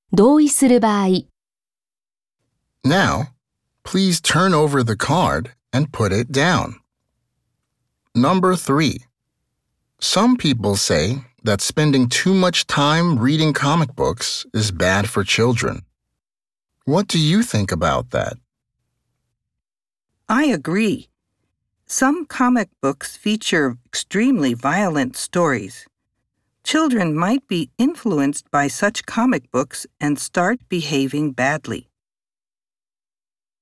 同意する場合、 Now, please turn over the card and put it down. Number 3. Some people say that spending too much time reading comic books is bad for children. What do you think about that? I agree. Some comic books feature extremely violent stories. Children might be influenced by such comic books and start behaving badly.